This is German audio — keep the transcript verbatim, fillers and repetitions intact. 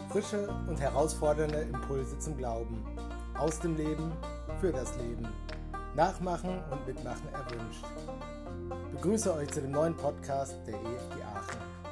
Frische und herausfordernde Impulse zum Glauben. Aus dem Leben, für das Leben. Nachmachen und Mitmachen erwünscht. Ich begrüße euch zu dem neuen Podcast der E F G Aachen.